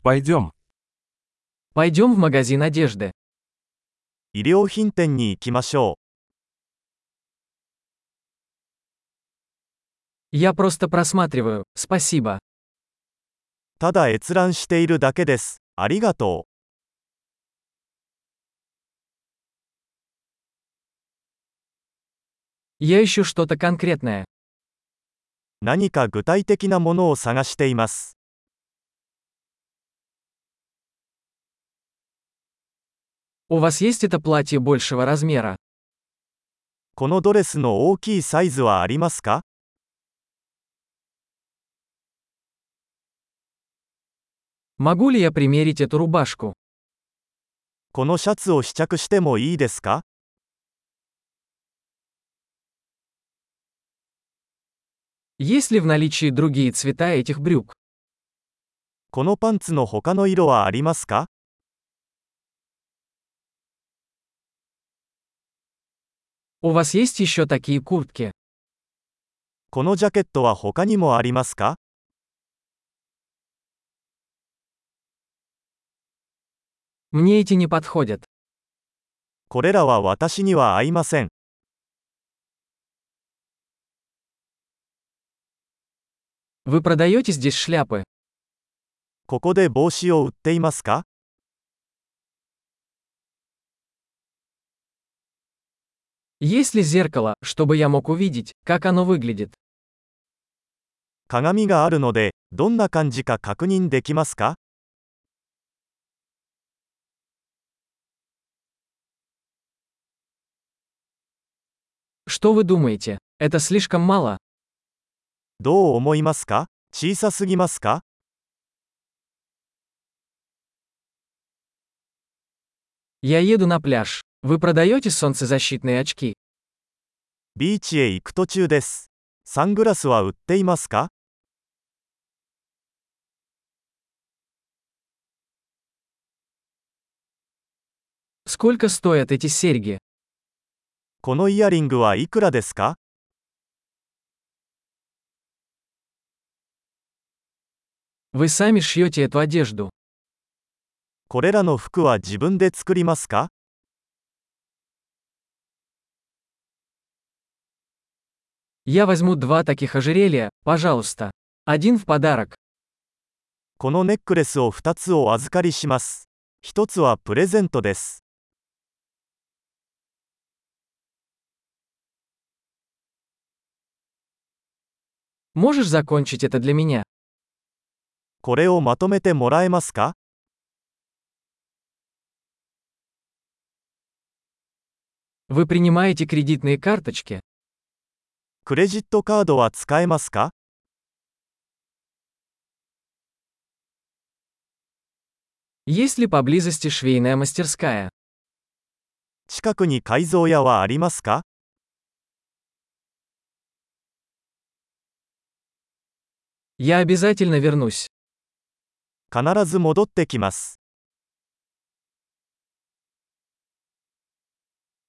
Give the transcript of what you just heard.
Пойдем. Пойдем в магазин одежды. 衣料品店に行きましょ Я просто просматриваю, спасибо. う。ただ閲覧しているだけです。ありがと Я ищу что-то конкретное. う。何か具体的なものを探しています。 У вас есть это платье большего размера? このドレスの大きいサイズはありますか？ Могу ли я примерить эту рубашку? このシャツを試着してもいいですか？ Есть ли в наличии другие цвета этих брюк? このパンツの他の色はありますか？ У вас есть еще такие куртки? このジャケットは他にもありますか？ Мне эти не подходят. これらは私には合いません。 Вы продаете здесь шляпы? ここで帽子を売っていますか？ Есть ли зеркало, чтобы я мог увидеть, как оно выглядит? 鏡があるので、どんな感じか確認できますか？ Что вы думаете? Это слишком мало? どう思いますか？小さすぎますか？ Я еду на пляж. Вы продаете солнцезащитные очки? ビーチへ行く途中です。サングラスは売っていますか？ Сколько стоят эти серьги? このイヤリングはいくらですか？ Вы сами шьете эту одежду. これらの服は自分で作りますか？ Я возьму 2 таких ожерелья, пожалуйста. Один в подарок. このネックレスを2つお預かりします。1つはプレゼントです。 Можешь закончить это для меня? これをまとめてもらえますか？ Вы принимаете кредитные карточки? クレジットカードは使えますか？ Есть ли поблизости швейная мастерская? 近くに改造屋はありますか？ Я обязательно вернусь. 必ず戻ってきます。